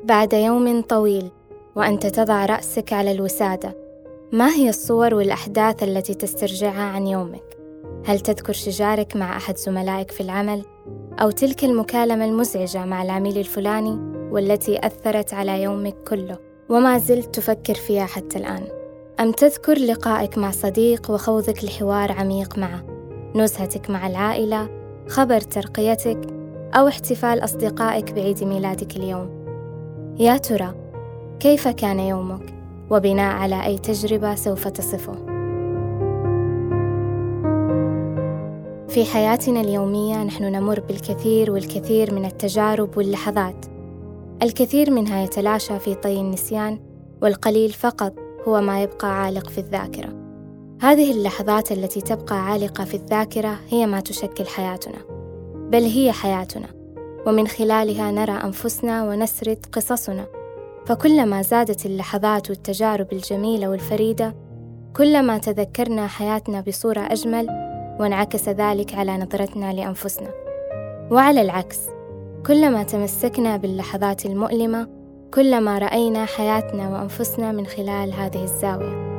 بعد يوم طويل وأنت تضع رأسك على الوسادة، ما هي الصور والأحداث التي تسترجعها عن يومك؟ هل تذكر شجارك مع أحد زملائك في العمل؟ أو تلك المكالمة المزعجة مع العميل الفلاني والتي أثرت على يومك كله وما زلت تفكر فيها حتى الآن؟ أم تذكر لقائك مع صديق وخوضك لحوار عميق معه، نزهتك مع العائلة، خبر ترقيتك، أو احتفال أصدقائك بعيد ميلادك اليوم؟ يا ترى كيف كان يومك؟ وبناء على أي تجربة سوف تصفه؟ في حياتنا اليومية نحن نمر بالكثير والكثير من التجارب واللحظات، الكثير منها يتلاشى في طي النسيان، والقليل فقط هو ما يبقى عالق في الذاكرة. هذه اللحظات التي تبقى عالقة في الذاكرة هي ما تشكل حياتنا، بل هي حياتنا، ومن خلالها نرى أنفسنا ونسرد قصصنا. فكلما زادت اللحظات والتجارب الجميلة والفريدة، كلما تذكرنا حياتنا بصورة أجمل، وانعكس ذلك على نظرتنا لأنفسنا. وعلى العكس، كلما تمسكنا باللحظات المؤلمة، كلما رأينا حياتنا وأنفسنا من خلال هذه الزاوية.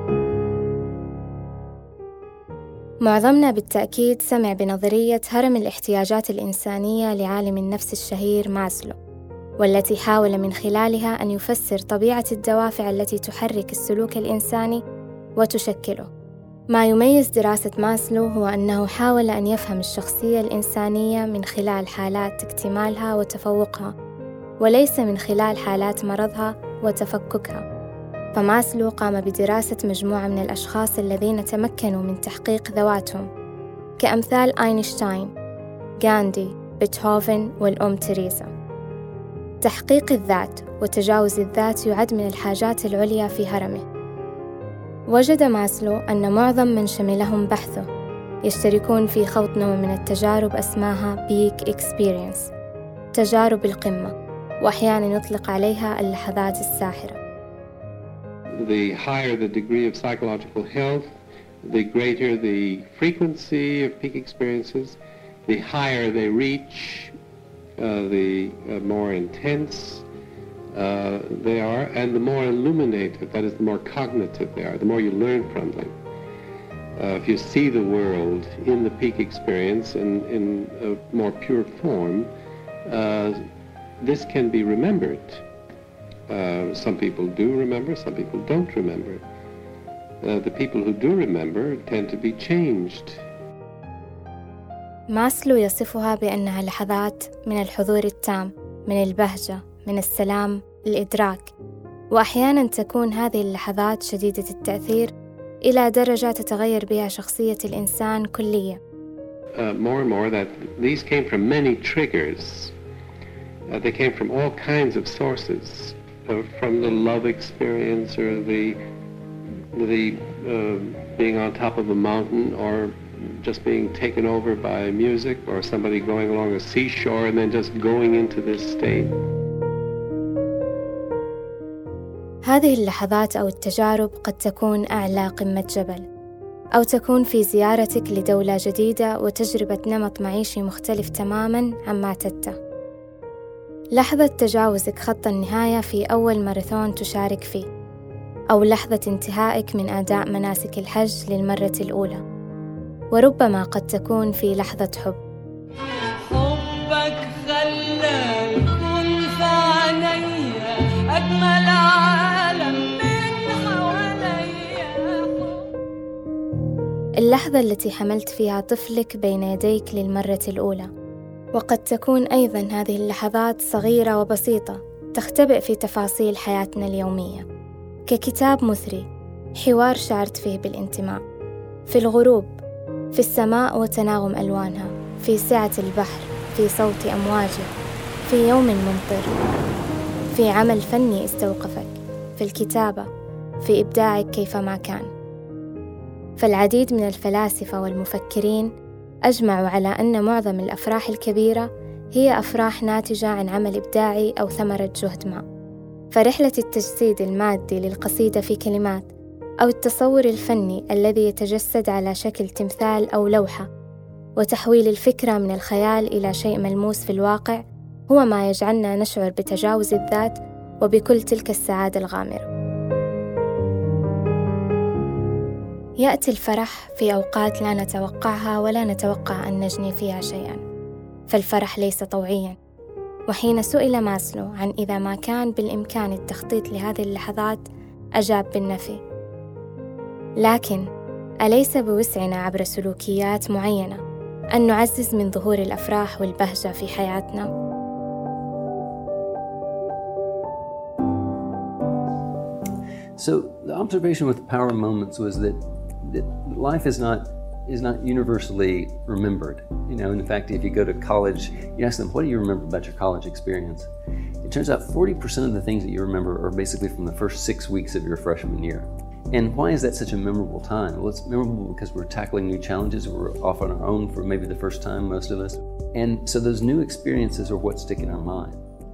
معظمنا بالتأكيد سمع بنظرية هرم الاحتياجات الإنسانية لعالم النفس الشهير ماسلو، والتي حاول من خلالها أن يفسر طبيعة الدوافع التي تحرك السلوك الإنساني وتشكله. ما يميز دراسة ماسلو هو أنه حاول أن يفهم الشخصية الإنسانية من خلال حالات اكتمالها وتفوقها، وليس من خلال حالات مرضها وتفككها. فماسلو قام بدراسة مجموعة من الأشخاص الذين تمكنوا من تحقيق ذواتهم، كأمثال أينشتاين، غاندي، بيتهوفن والأم تيريزا. تحقيق الذات وتجاوز الذات يعد من الحاجات العليا في هرمه. وجد ماسلو أن معظم من شملهم بحثه يشتركون في خوض نوع من التجارب أسماها بيك إكسبيرينس، تجارب القمة، وأحيانا يطلق عليها اللحظات الساحرة. The higher the degree of psychological health, the greater the frequency of peak experiences, the higher they reach, the more intense they are, and the more illuminated, that is, the more cognitive they are, the more you learn from them. If you see the world in the peak experience in a more pure form, this can be remembered. Some people do remember, some people don't remember. The people who do remember tend to be changed. ماسلو يصفها بأنها لحظات من الحضور التام، من البهجة، من السلام، الإدراك. وأحياناً تكون هذه اللحظات شديدة التأثير إلى درجة تتغير بها شخصية الإنسان كلياً. More and more that these came from many triggers. They came from all kinds of sources, from the love experience or the being on top of a mountain, or just being taken over by music, or somebody going along a seashore and then just going into this state. هذه اللحظات أو التجارب قد تكون أعلى قمة جبل، أو تكون في زيارتك لدولة جديدة وتجربة نمط معيشي مختلف تماماً عما اعتدته. لحظة تجاوزك خط النهاية في أول ماراثون تشارك فيه، أو لحظة انتهائك من أداء مناسك الحج للمرة الأولى. وربما قد تكون في لحظة حب. حبك خلى الكون في عينيا أجمل عالم من حواليا. اللحظة التي حملت فيها طفلك بين يديك للمرة الأولى. وقد تكون أيضاً هذه اللحظات صغيرة وبسيطة تختبئ في تفاصيل حياتنا اليومية، ككتاب مثري، حوار شعرت فيه بالانتماء، في الغروب، في السماء وتناغم ألوانها، في سعة البحر، في صوت أمواجه، في يوم ممطر، في عمل فني استوقفك، في الكتابة، في إبداعك كيفما كان. فالعديد من الفلاسفة والمفكرين أجمعوا على أن معظم الأفراح الكبيرة هي أفراح ناتجة عن عمل إبداعي أو ثمرة جهد ما. فرحلة التجسيد المادي للقصيدة في كلمات، أو التصور الفني الذي يتجسد على شكل تمثال أو لوحة، وتحويل الفكرة من الخيال إلى شيء ملموس في الواقع، هو ما يجعلنا نشعر بتجاوز الذات وبكل تلك السعادة الغامرة. يأتي الفرح في أوقات لا نتوقعها ولا نتوقع أن نجني فيها شيئا، فالفرح ليس طوعيا. وحين سئل ماسلو عن إذا ما كان بالإمكان التخطيط لهذه اللحظات أجاب بالنفي. لكن أليس بوسعنا عبر سلوكيات معينة أن نعزز من ظهور الأفراح والبهجة في حياتنا؟ So the observation with power moments was that life is not universally remembered. You know, in fact, if you go to college, you ask them, what do you remember about your college experience? It turns out 40% of the things that you remember are basically from the first 6 weeks of your freshman year. And why is that such a memorable time? Well, it's memorable because we're tackling new challenges. We're off on our own for maybe the first time, most of us. And so those new experiences are what stick in our mind.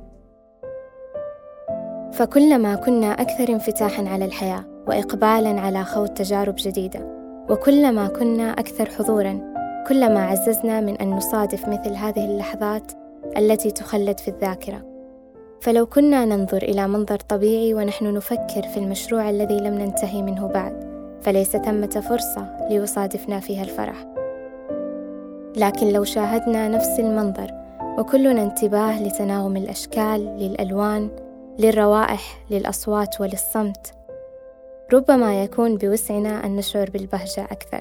فكلما كنا أكثر انفتاحاً على الحياة وإقبالاً على خوض تجارب جديدة، وكلما كنا أكثر حضوراً، كلما عززنا من أن نصادف مثل هذه اللحظات التي تخلد في الذاكرة. فلو كنا ننظر إلى منظر طبيعي ونحن نفكر في المشروع الذي لم ننتهي منه بعد، فليس ثمة فرصة ليصادفنا فيها الفرح. لكن لو شاهدنا نفس المنظر وكلنا انتباه لتناغم الأشكال، للألوان، للروائح، للأصوات وللصمت، ربما يكون بوسعنا أن نشعر بالبهجة أكثر.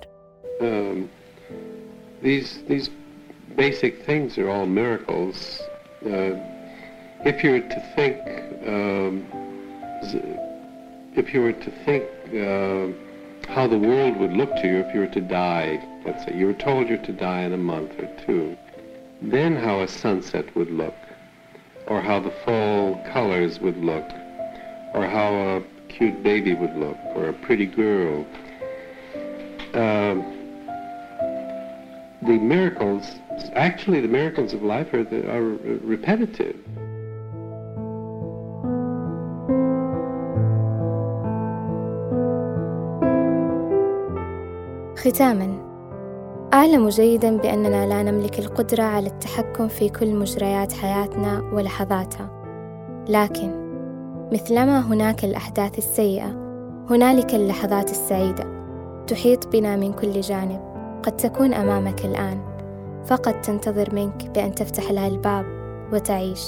These basic things are all miracles. If you were to think how the world would look to you if you were to die, let's say you were told you're to die in a month or two, then how a sunset would look, or how the fall colors would look, or how a cute baby would look, or a pretty girl. The miracles, actually the miracles of life are repetitive. ختاماً، أعلم جيداً بأننا لا نملك القدرة على التحكم في كل مجريات حياتنا ولحظاتها، لكن مثلما هناك الأحداث السيئة، هنالك اللحظات السعيدة تحيط بنا من كل جانب، قد تكون أمامك الآن، فقط تنتظر منك بأن تفتح لها الباب وتعيش.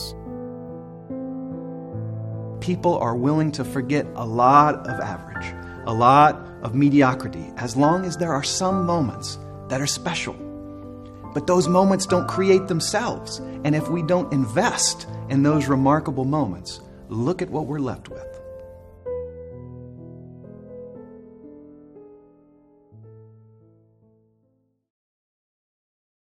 People are willing to forget a lot of average, a lot of mediocrity, as long as there are some moments that are special. But those moments don't create themselves. And if we don't invest in those remarkable moments, look at what we're left with.